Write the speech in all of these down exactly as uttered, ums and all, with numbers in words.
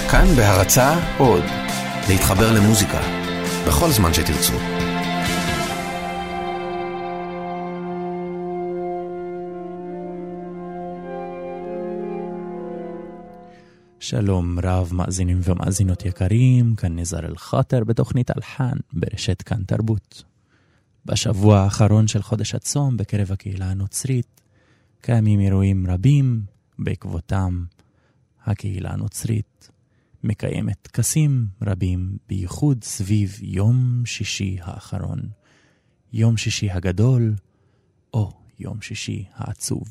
כאן בהרצאה עוד, להתחבר למוזיקה, בכל זמן שתרצו. שלום רב מאזינים ומאזינות יקרים, כאן נזר אל-חאטר בתוכנית אלחן ברשת כאן תרבות. בשבוע האחרון של חודש הצום בקרב הקהילה הנוצרית קיימים אירועים רבים, בעקבותם הקהילה הנוצרית מקיימת טקסים רבים, בייחוד סביב יום שישי האחרון, יום שישי הגדול או יום שישי העצוב.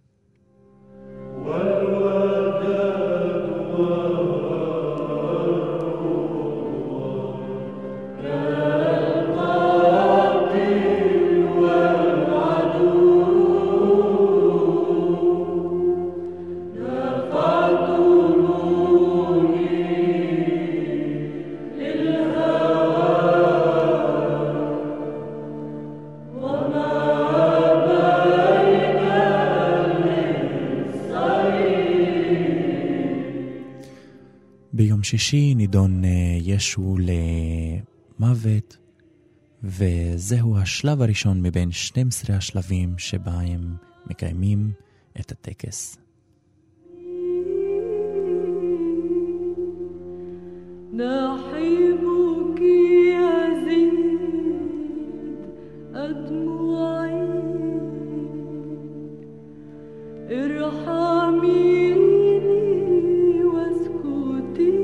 ביום שישי נידון ישו למוות, וזהו השלב הראשון מבין שנים עשר השלבים שבהם מקיימים את הטקס. نحبك يا زيد أدمعي ارحميني واسكتي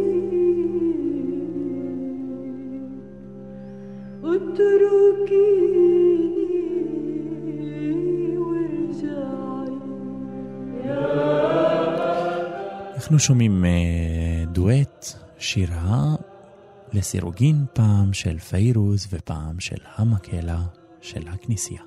اتركيني وارجعي. אנחנו שומעים דואט, שירה לסירוגין, פעם של פיירוז ופעם של המקהלה של הכנסייה.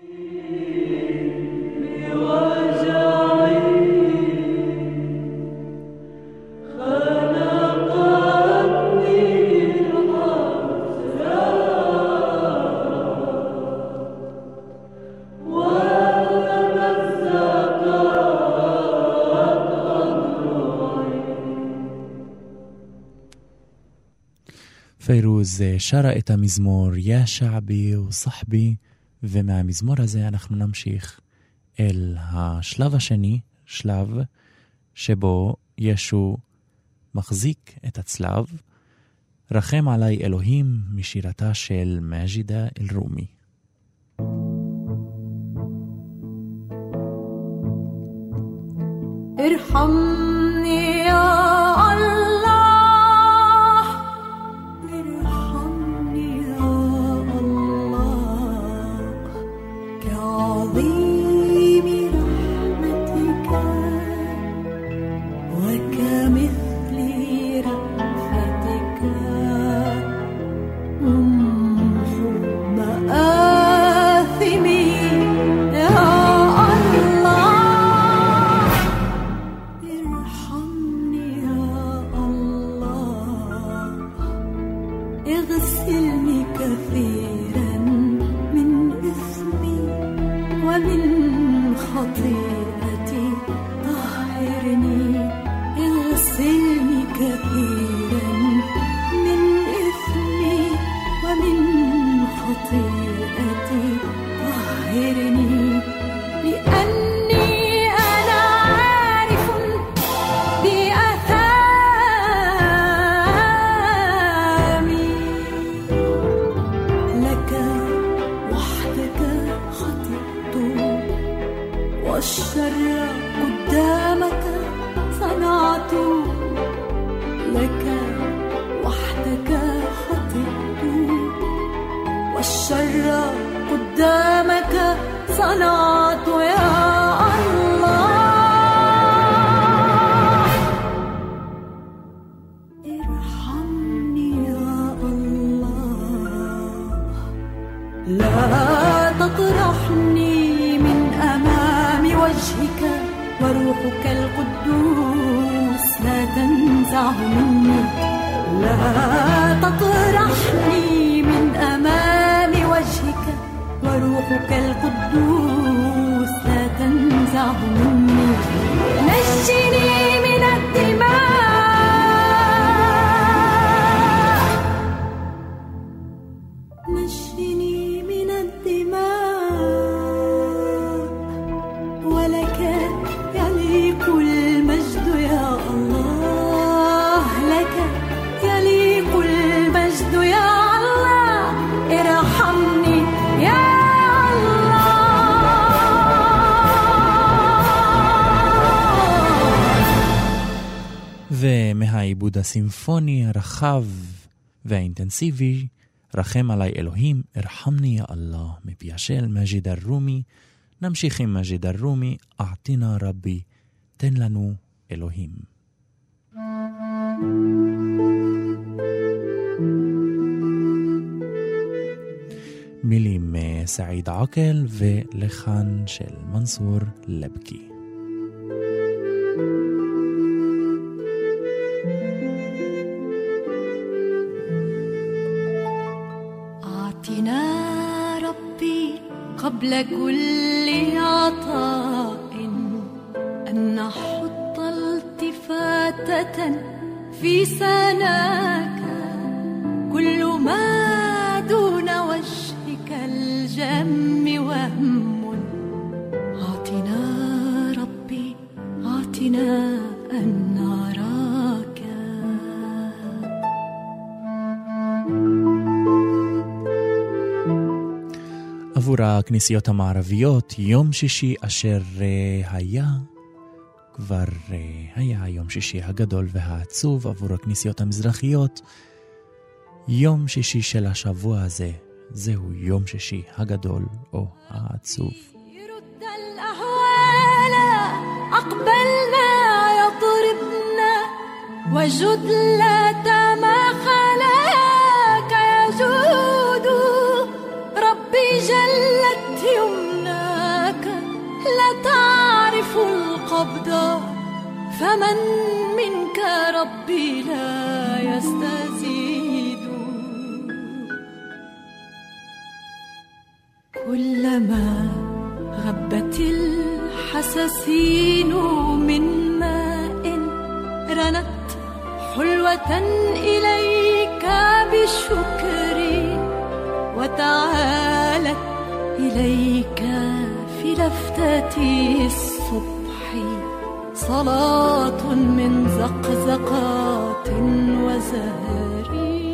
פיירוז שרה את המזמור יא שעבי וסחבי, ומהמזמור הזה אנחנו נמשיך אל השלב השני, שלב שבו ישו מחזיק את הצלב, רחם עלי אלוהים, משירתה של מג'ידה אל-רומי. ارحمني يا وروحك القدوس لا تنزعه مني. نجني من الدماء ומהעיבוד הסימפוני הרחב והאינטנסיבי, רחם עליי אלוהים, הרחמני יא אללה, מפיה של מג'יד אל-רומי. נמשיך עם מג'יד אל-רומי, אעתינה רבי, תן לנו אלוהים. מילים סעיד עקל ולחן של מנסור לבקי. قبل كل عطاء أن نحط التفاتة في سناك كل ما دون وجهك الجم وهم أعطنا ربي أعطنا أن نراك עבור הכנסיות המערביות, יום שישי אשר היה, כבר היה היום שישי הגדול והעצוב. עבור הכנסיות המזרחיות, יום שישי של השבוע הזה, זהו יום שישי הגדול או העצוב. يرد الأهوال أقبلنا يضربنا وجد لا ما خلاك يجود ربي جلت يمناك لا تعرف القبض فمن منك ربي لا يستزيد كلما غبت الحساسين من ماء رنت حلوة إليك بالشكر وتعالت إليك في لفتة الصبح صلاة من زقزقات وزهر.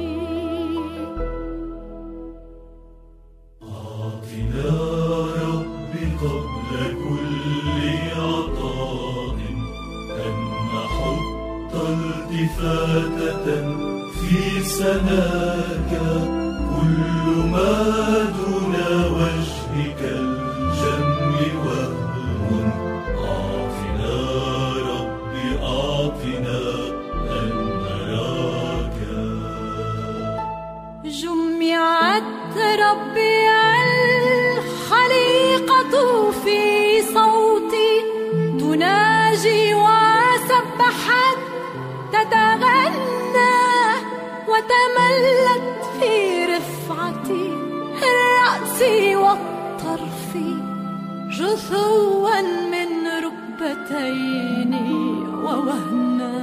أعطنا ربي قبل كل عطاء أن نحط التفاتة في سناك كل ما دون وجهك الجم وهم أعطنا ربي أعطنا أن نراك. جمعت ربي الخليقة في صوتي تناجي وسبحت تتغنى وتملت في رفعتي الرأس والطرف جثوا من ركبتين ووهنا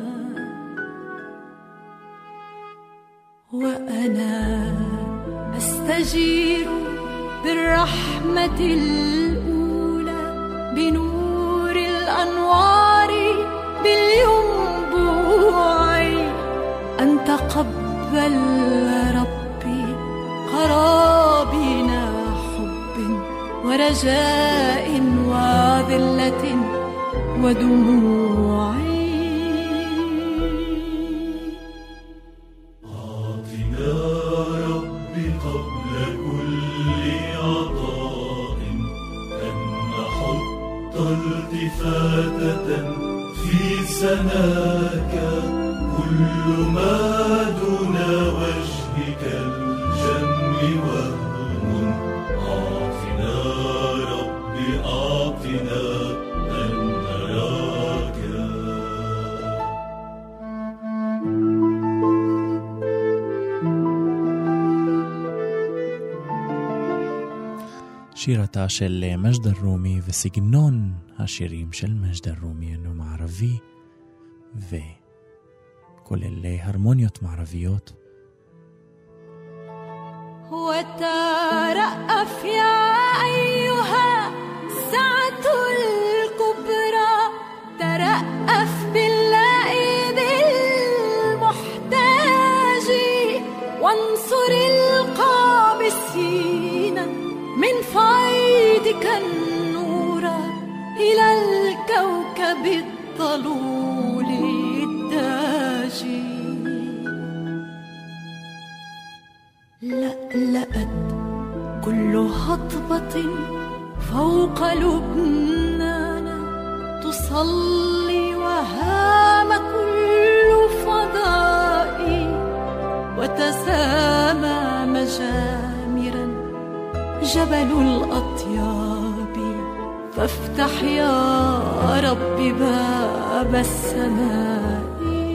وأنا أستجير بالرحمة الأولى بنور الأنوار بالينبوع أن تقبل ربي قرابينا حب ورجاء وذلة ودموع. أعطنا ربي قبل كل عطاء أن نحط التفاتة في سناك كل ما دون وجهك الجم وهم أعطنا ربي أعطنا أن نراك. שירתה של מג'ד אל-רומי וסגנון השירים של מג'ד אל-רומי אינו מערבי וכולל הרמוניות מערביות. وترأف يا أيها السعة الكبرى ترأف باللائذ المحتاج وانصر القابسين من فيضك النور إلى الكوكب الضلول الداجي. تلألأت كل هضبة فوق لبنان، تصلي وهام كل فضائي وتسامى مجامرا جبل الأطياب، فافتح يا رب باب السماء.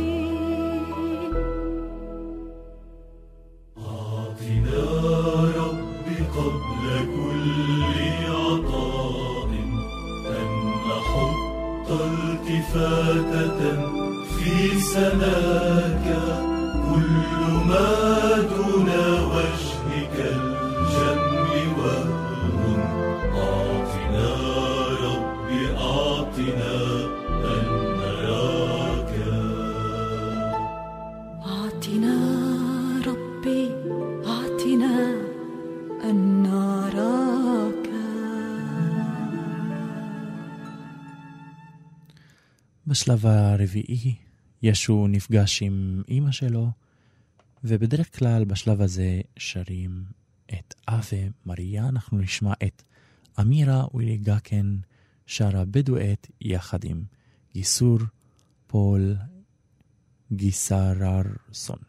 أعطنا رب قبل كل عطاء أن نحط التفاتة في سناك، كل ما دون وجهك الجم وهم. أعطنا رب أعطنا أن نراك. أعطنا ربي أعطنا أن نراك. בשלב הרביעי ישו נפגש עם אמא שלו, ובדרך כלל בשלב הזה שרים את אבה מריה. אנחנו נשמע את אמירה ווילי גקן שרה בדואט יחד עם גיסור פול גיסררסון.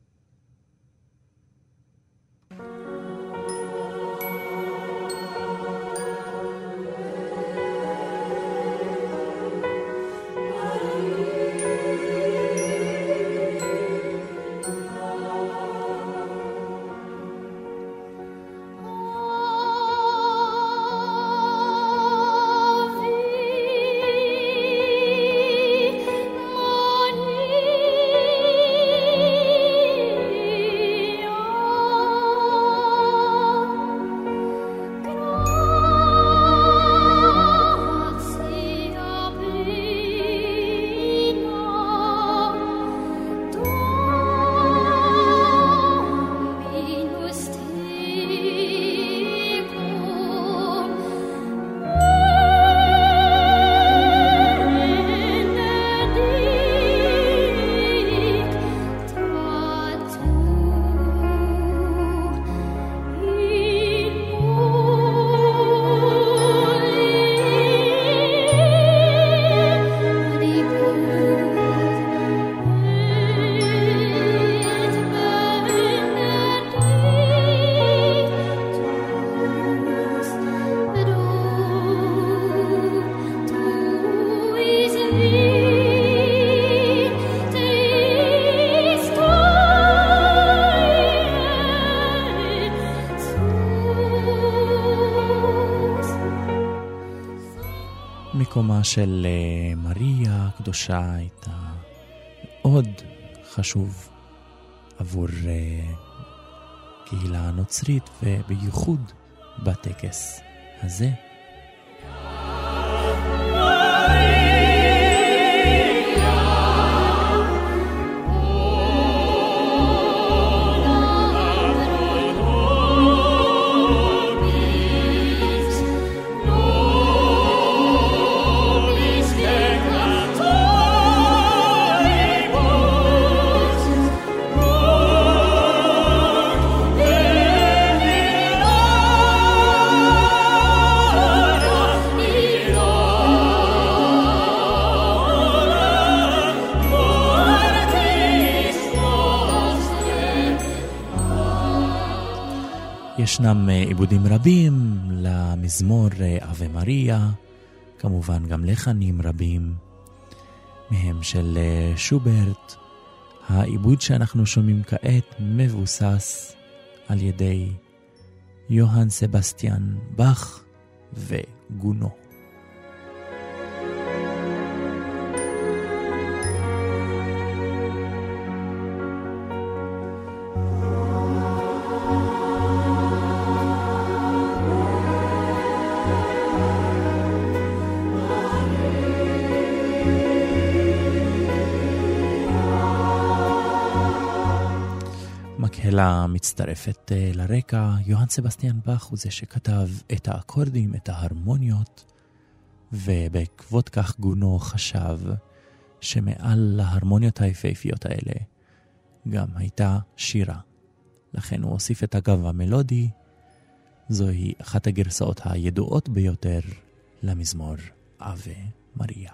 מקומה של מריה הקדושה הייתה מאוד חשוב עבור קהילה הנוצרית, ובייחוד בטקס הזה. ישנם עיבודים רבים למזמור אבה מריה, כמובן גם לחנים רבים, מהם של שוברט. העיבוד שאנחנו שומעים כעת מבוסס על ידי יוהאן סבסטיאן באך וגונו. מקהלה מצטרפת לרקע. יוהאן סבסטיאן באך הוא זה שכתב את האקורדים, את ההרמוניות, ובעקבות כך גונו חשב שמעל להרמוניות היפהפיות האלה גם הייתה שירה לכן הוא הוסיף את הגב המלודי. זוהי אחת הגרסאות הידועות ביותר למזמור אבה מריה.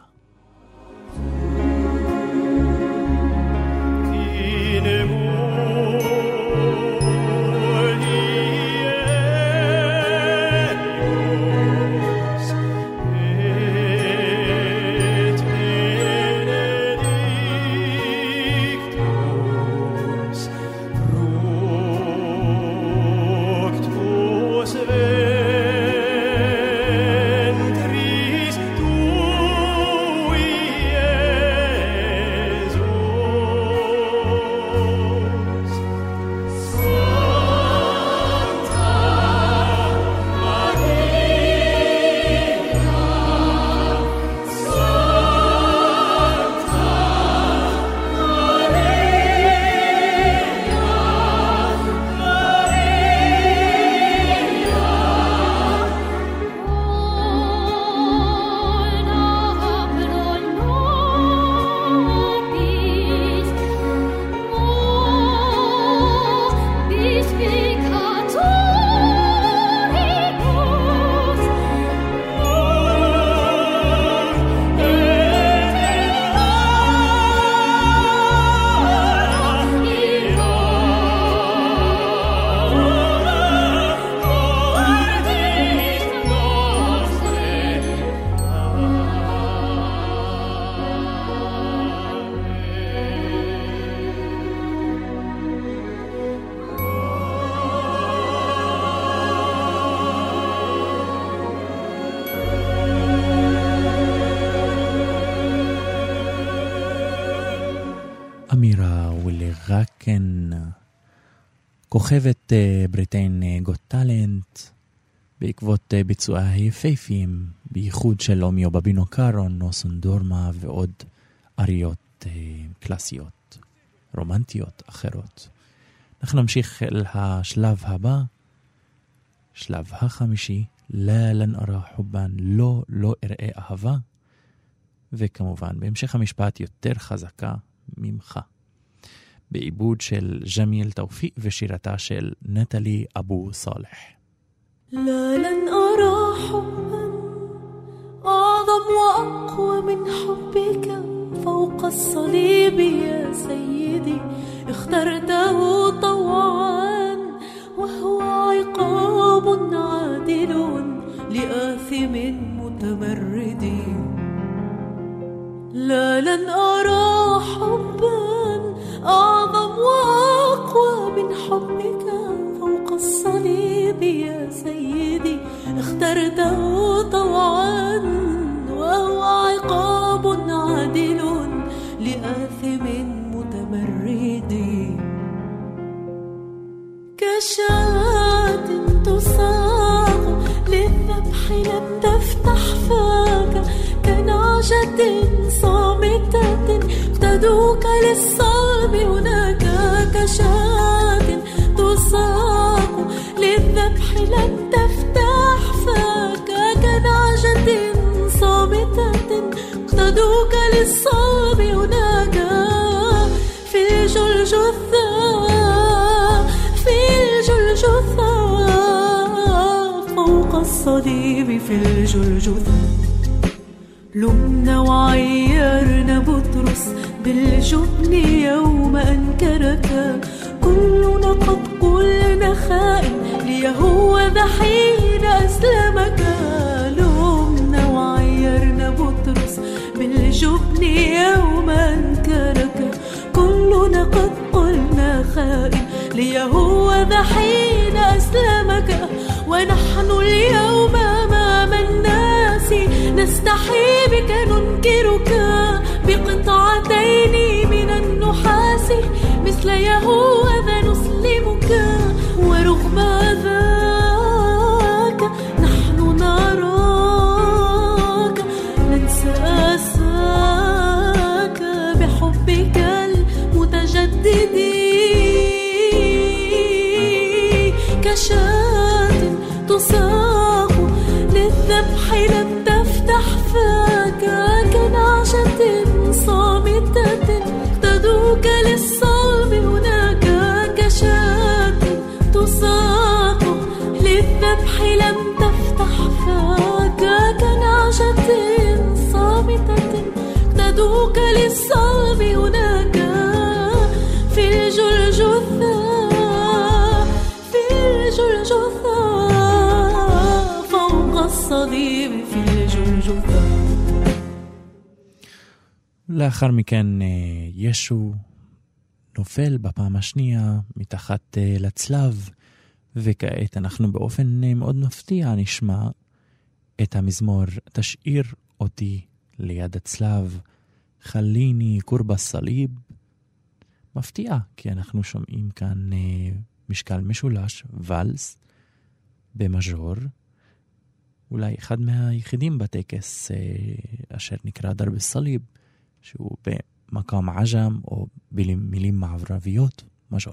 אמירה ולרקן, כוכבת בריטיין גוט טלנט, בעקבות ביצועי היפהפיים, בייחוד של אומיו בבינו קארון, נוסון דורמה ועוד אריות קלאסיות, רומנטיות אחרות. אנחנו נמשיך אל השלב הבא, שלב החמישי, לא לן ארא חובן, לא, לא אראה אהבה, וכמובן בהמשך המשפט יותר חזקה ממך, בעיבוד של ג'מיל תאופיק ושירתה של נטלי אבו סالح. لا لن أرى حبا أعظم وأقوى من حبك فوق الصليب يا سيدي اخترته طوعا وهو عقاب عادل لآثم متمرد. لا لن أرى حبا أعظم وأقوى من حبك فوق الصليب يا سيدي اخترته طوعا وهو عقاب عادل لآثم متمرد. كشاة تساق للذبح لم تفتح فاك كنعجة صامتة اقتدوك للصلب هناك. كشاة تساق للذبح لم تفتح فاك كنعجة صامتة اقتدوك للصلب هناك. في الجلجثة في الجلجثة فوق الصليب في الجلجثة لمنا وعيرنا بطرس بالجبن يوم أنكرك كلنا قد قلنا خائن ليهوذا حين أسلمك. لمنا وعيرنا بطرس بالجبن يوم أنكرك كلنا قد قلنا خائن ليهوذا حين أسلمك. ونحن اليوم أمام الناس نستحي بك ننكرك بقطعتين من النحاس مثل يهوذا نسلمك. ورغم ذاك نحن نراك ننسى أساك بحبك المتجدد. كشاة تساق للذبح لم تفتح فاك كنعجة صامتة اقتدوك للصلب هناك. كشاة الصليب في الجلجثة. לאחר מכן ישו נופל בפעם השנייה מתחת לצלב, וכעת אנחנו באופן מאוד מפתיע נשמע את המזמור תשאיר אותי ליד הצלב, חליני קורב הסליב. מפתיע, כי אנחנו שומעים כאן משקל משולש, ולס במז'ור, אולי אחד מהיחידים בטקס אשר נקרא דרב הסליב, שהוא במקום עג'ם או במילים מערביות, מז'ור.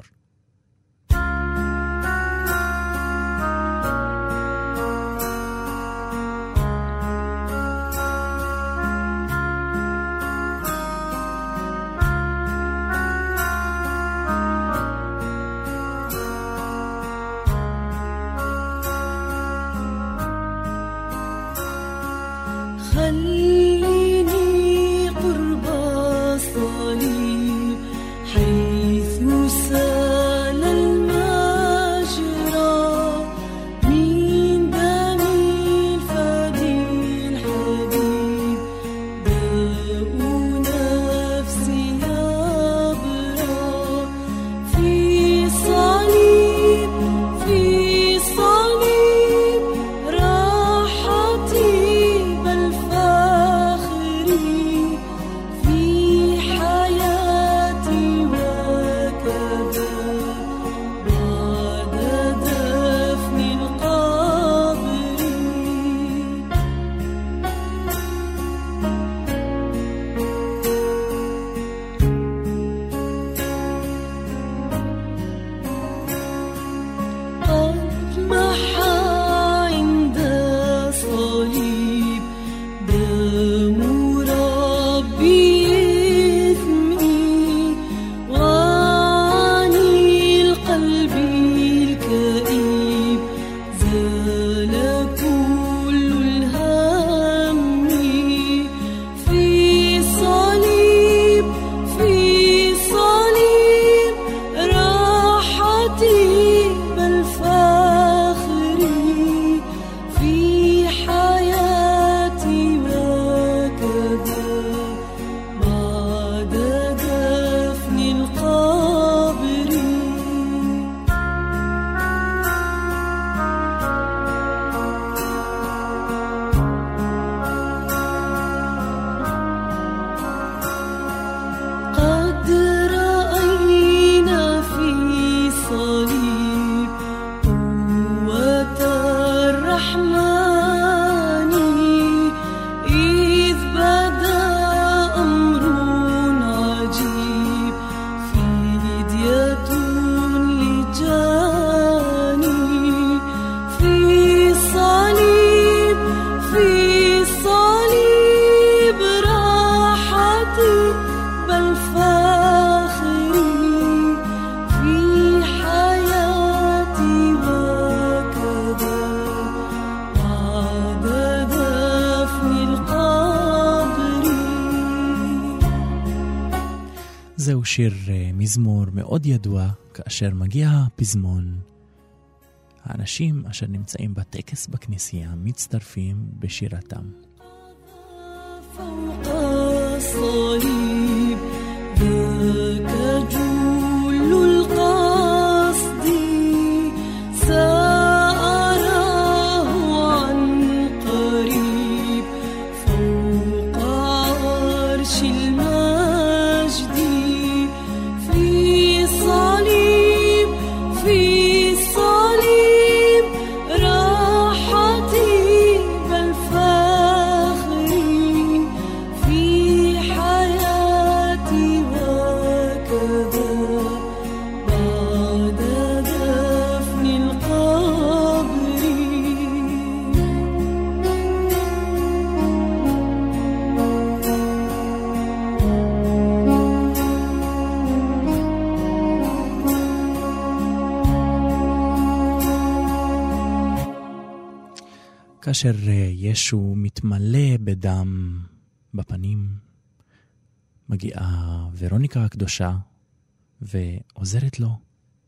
זהו שיר מזמור מאוד ידוע כאשר מגיע הפזמון. האנשים אשר נמצאים בטקס בכנסייה מצטרפים בשירתם. فوق الصليب ذاك جل القصد سأراه عن قريب فوق عرش المجد في صليب في صليب راحتي بل فخري في حياتي وكذا بعد دفن القبر. כאשר ישו מתמלא בדם בפנים, מגיעה ורוניקה הקדושה ועוזרת לו.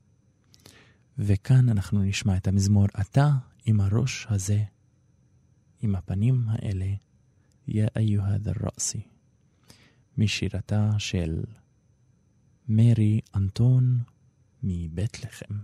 וכאן אנחנו נשמע את המזמור אתה עם הראש הזה. עם הפנים האלה, יא איוה דר רأסי, משירתה של מרי אנטון מבית לחם.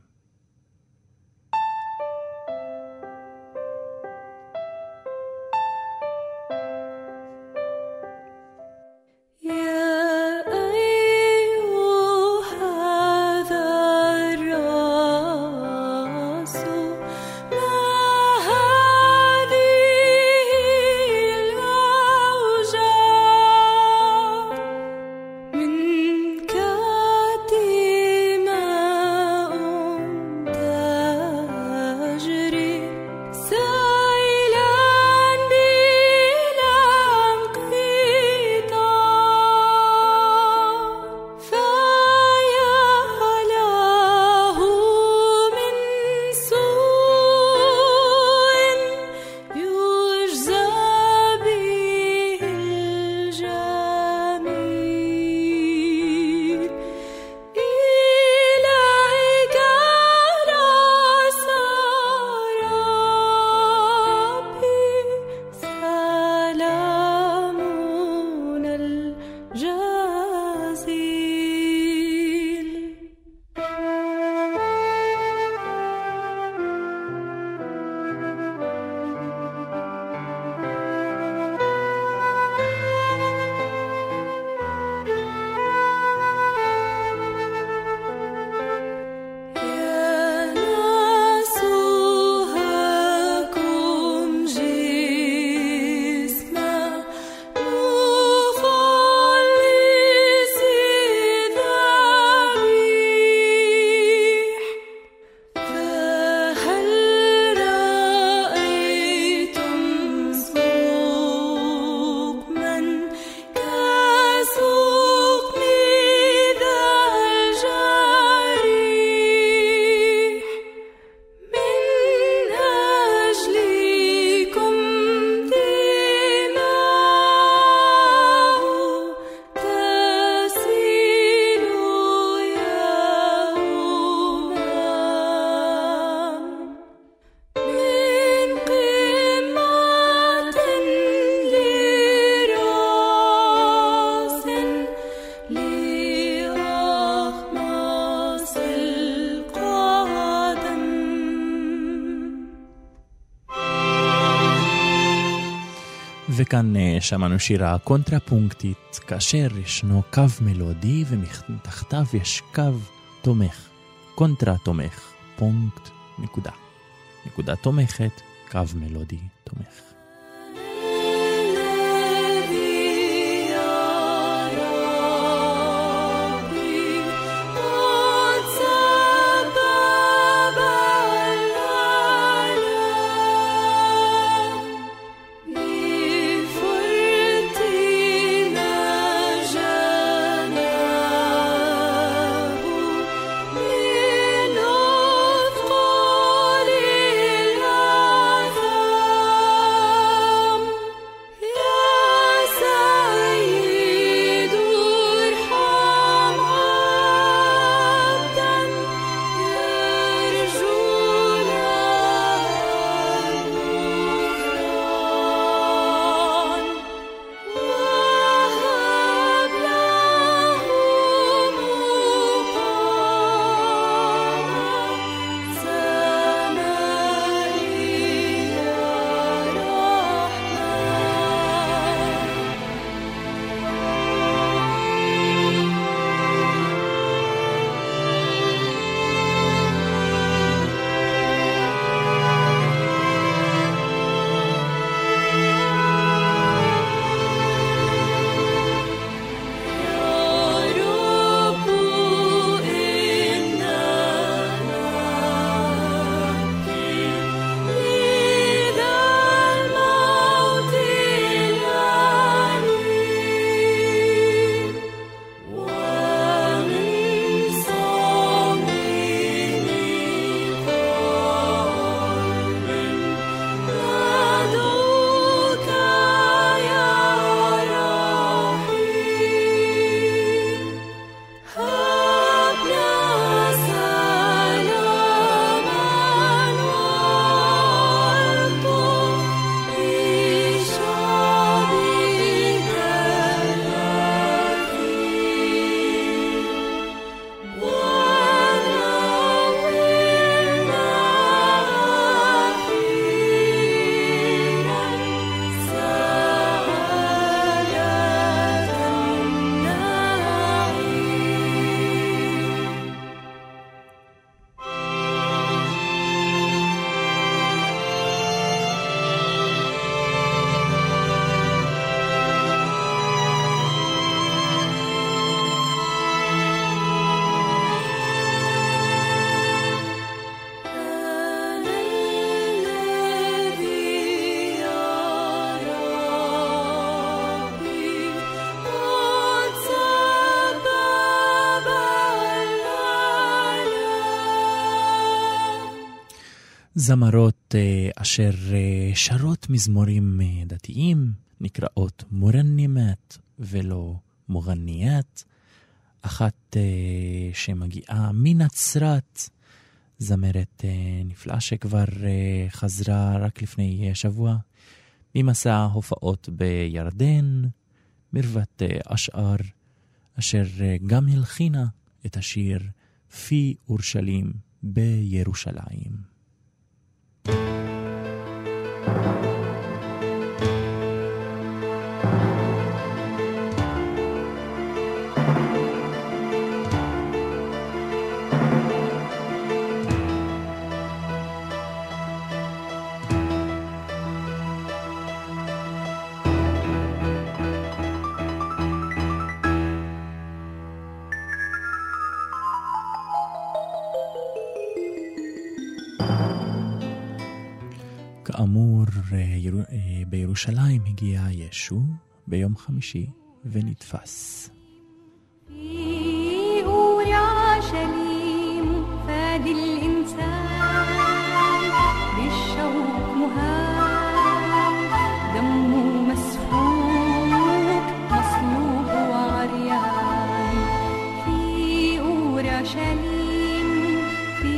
וכאן שמענו שירה קונטרפונקטית, כאשר ישנו קו מלודי ומתחתיו יש קו תומך, קונטרה תומך, פונקט, נקודה. נקודה תומכת, קו מלודי תומך. Oh זמרות אשר שרות מזמורים דתיים, נקראות מורנימת ולא מוגניית. אחת שמגיעה מנצרת, זמרת נפלאה שכבר חזרה רק לפני שבוע ממסע הופעות בירדן, מרוות אשער, אשר גם הלחינה את השיר פי אורשלים בירושלים. כאמור, בירושלים הגיע ישו ביום חמישי ונתפס. في أورشليم فاد الإنسان بالشوق مهان دمه مسفوك مصلوب وعريان في أورشليم في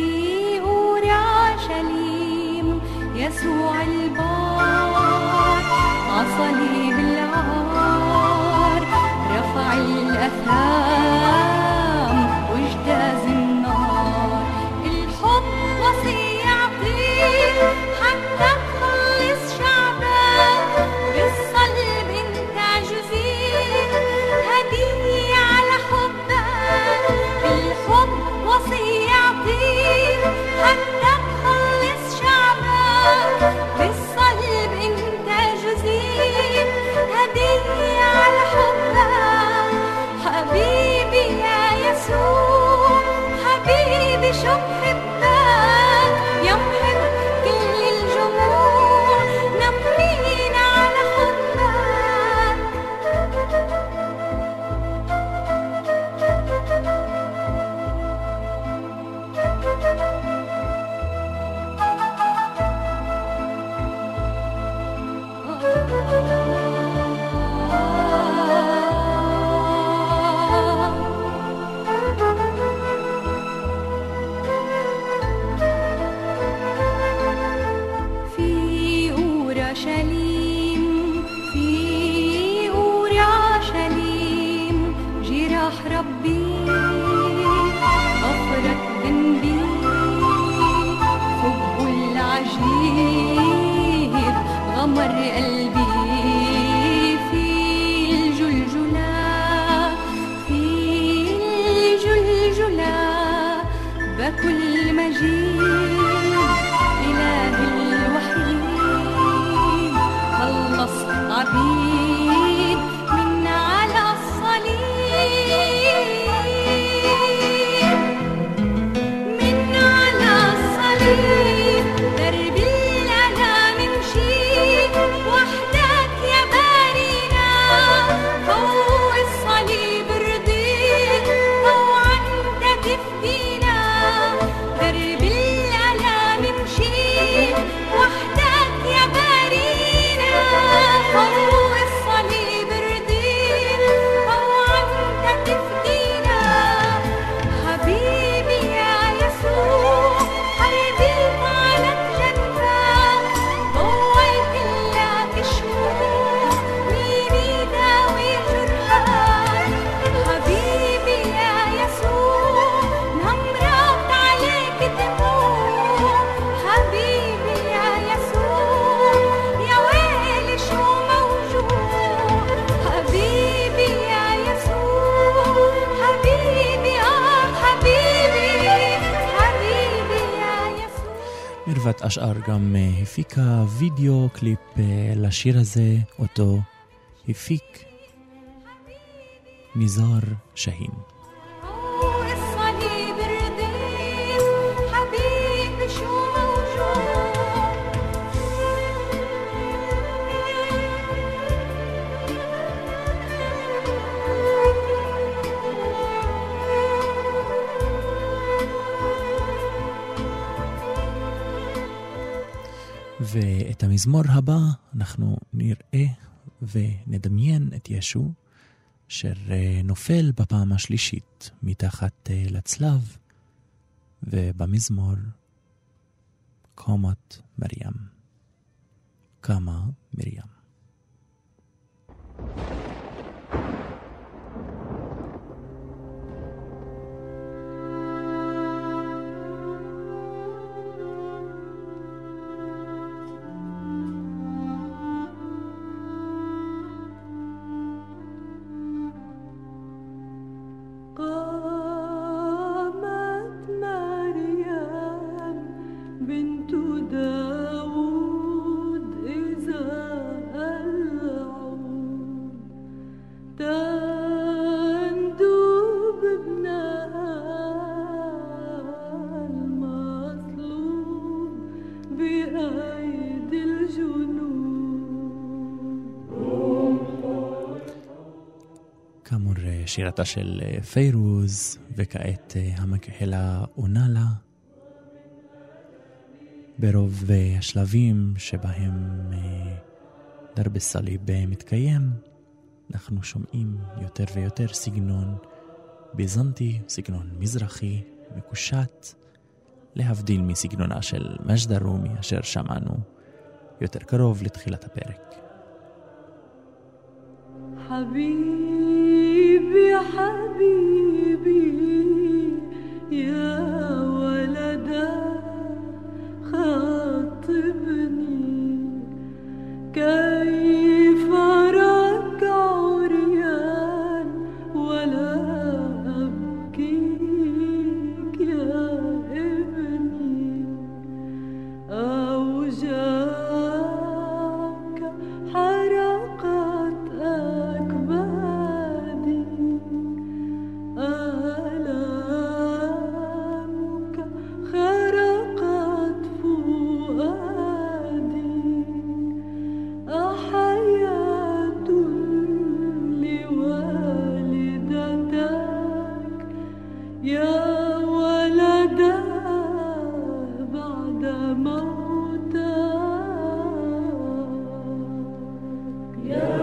أورشليم يسوع البار عصليب العار رفع الأثام واجتاز النار الحب وصية يعطيه حتى تخلص شعبك بالصلب انت جزيء هدية على حبك الحب وصية يعطيه حتى تخلص شعبك بالصلب انت جزيء هدية على حبك حبيبي يا يسوع حبيبي شو بحبك يا محب كل الجموع نمرين على حبك في أورشليم في أورشليم جراح ربي غفرت ذنبي حب العجيب غمر قلبي في الجلجلة في الجلجلة بكل مجيد إله الوحيد خلص عبيد من على الصليب من على الصليب درب الألم مشيت وحدك يا بارينا فوق الصليب رضيت طوعا تفدينا درب الألم مشيت وحدك يا بارينا فوق الصليب رضيت طوعا تفدينا حبيبي يا يسوع حبيبي على جنبك ضويت لك شموع مين يداوي جرحك حبيبي يا يسوع نمرت عليك دموع حبيبي يا يسوع يا ويلي شو موجوع حبيبي يا يسوع حبيبي آه حبيبي حبيبي يا يسوع מרוות אשער גם הפיקה וידאו קליפ לשיר הזה, אותו הפיק ניזאר שהין. فوق الصليب رضيت حبيبي شو موجوع ואת המזמור הבא אנחנו נראה ונדמיין את ישו אשר נופל בפעם השלישית מתחת לצלב, ובמזמור קומת מרים, קמה מרים. שירתה של פיירוז, וכעת המקהלה עונה לה. ברוב השלבים שבהם דרב סליב מתקיים, אנחנו שומעים יותר ויותר סגנון ביזנטי, סגנון מזרחי, מקושט, להבדיל מסגנונה של מג'ד רומי, אשר שמענו יותר קרוב לתחילת הפרק. حبيبي حبيبي يا ولدا خاطبني كيف ركع عريان ولا أبكيك يا ابني أو جاك حرقت أكبادي آلامك خرقت فؤادي أحياة لوالدتك يا ولدا بعد موتك يا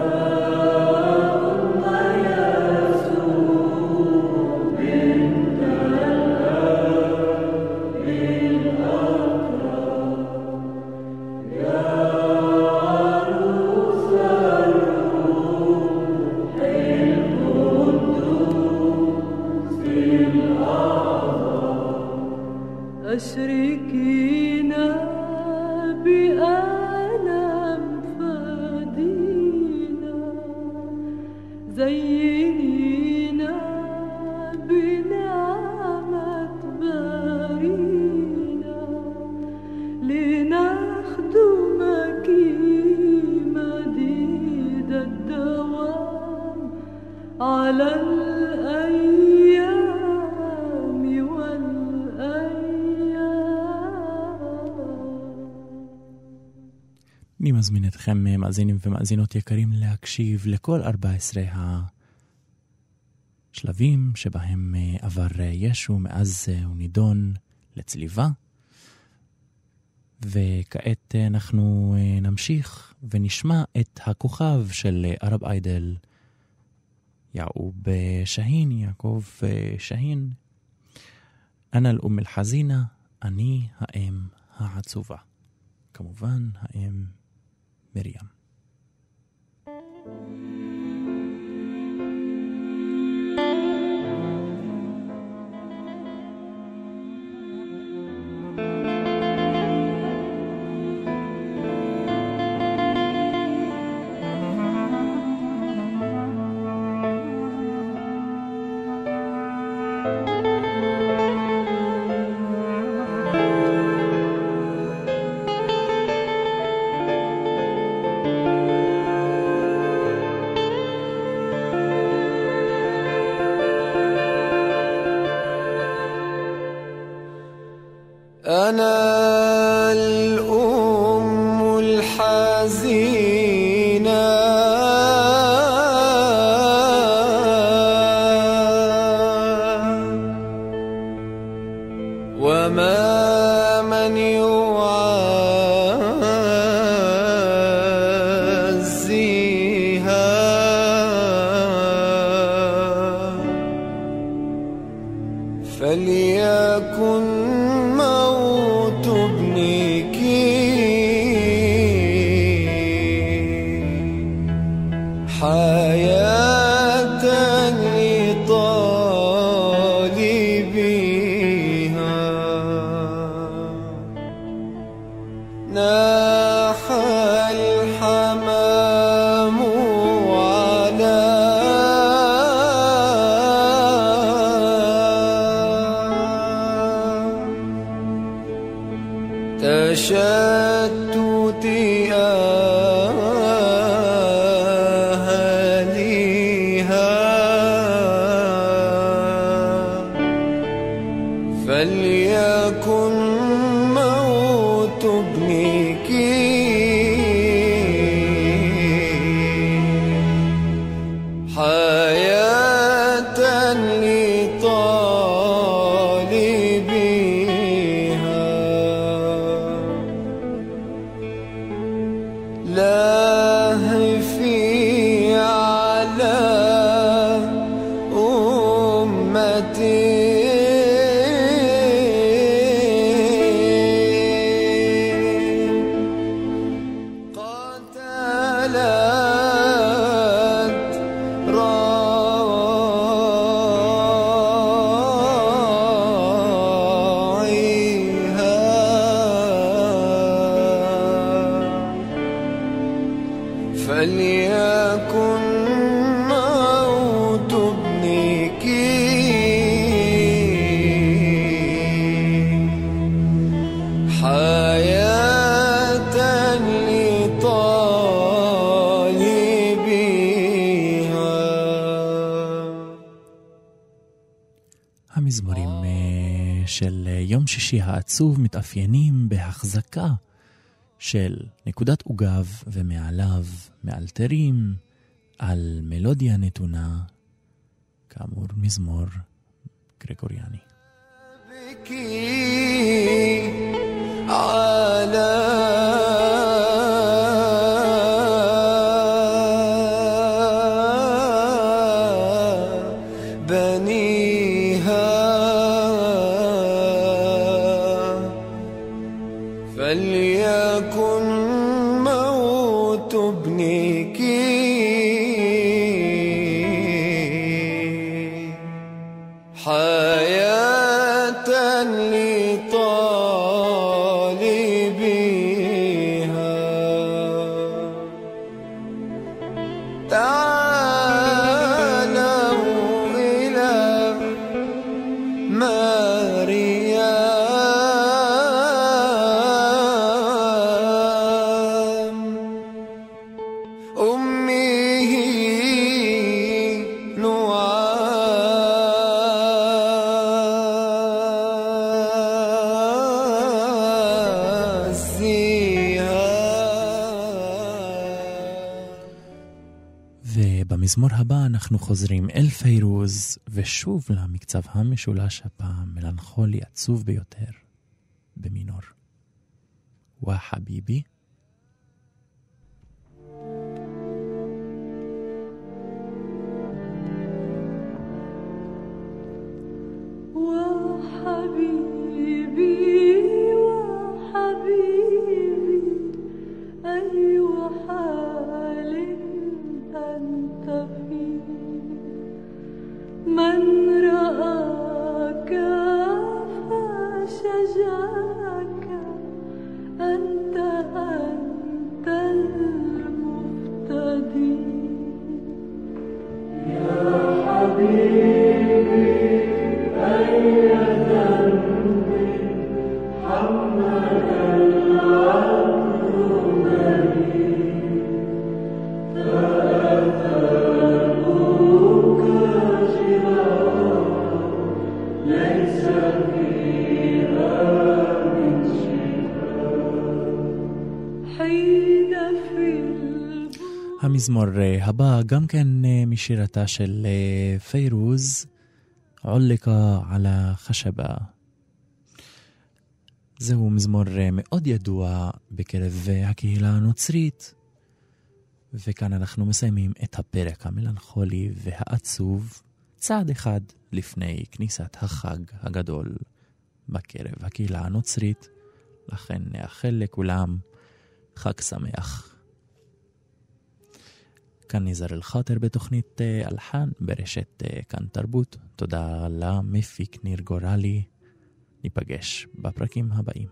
أشركينا بألم فدينا زينينا بنعمة بارينا لنخدمك مديد الدوام على الأيام والأيام. אני מזמין אתכם מאזינים ומאזינות יקרים להקשיב לכל ארבע עשרה השלבים שבהם עבר ישו מאז הוא נידון לצליבה. וכעת אנחנו נמשיך ונשמע את הכוכב של ערב איידל, יעקוב שהין, יעקב שהין. אנה אל-אום אל-חזינה, אני האם העצובה. כמובן האם מרים. أنا الأم الحزينة وما من يعاني فليكن موت ابنك حياة لطالبها ناح الحمام على تشتت أهلها فليكن موت ابنك حياة لطالبها لهفي على أمتي قتلت راعيها فليكن موت ابنك حياة لطالبها. המזמורים אה, של אה, יום שישי העצוב מתאפיינים בהחזקה של נקודת עוגב ומעליו מאלתרים על מלודיה נתונה, כאמור מזמור גרגוריאני. بكي على بنيها فليكن موت ابنك حياة لطالبها تعالوا إلى مريم أمه ובמזמור הבא אנחנו חוזרים אל פיירוז ושוב למקצב המשולש הפעם מלנכולי עצוב ביותר במינור. וואה חביבי. وحبيبي وحبيبي أي حال أنت فيه من رآك فشجاك أنت أنت المفتدي يا حبيبي أي ذنب حمل العبد بريء فأثابك جراح ليس فيها من شفاء حين في המזמור הבא גם כן משירתה של פיירוז, עולקה על החשבה. זהו מזמור מאוד ידוע בקרב הקהילה הנוצרית, וכאן אנחנו מסיימים את הפרק המלנכולי והעצוב, צעד אחד לפני כניסת החג הגדול בקרב הקהילה הנוצרית. לכן נאחל לכולם חג שמח. כאן ניזר אל-חאטר בתוכנית אלחן ברשת כאן תרבות. תודה למפיק ניר גורלי. ניפגש בפרקים הבאים.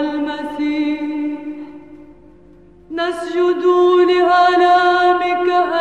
نسجد لآلامك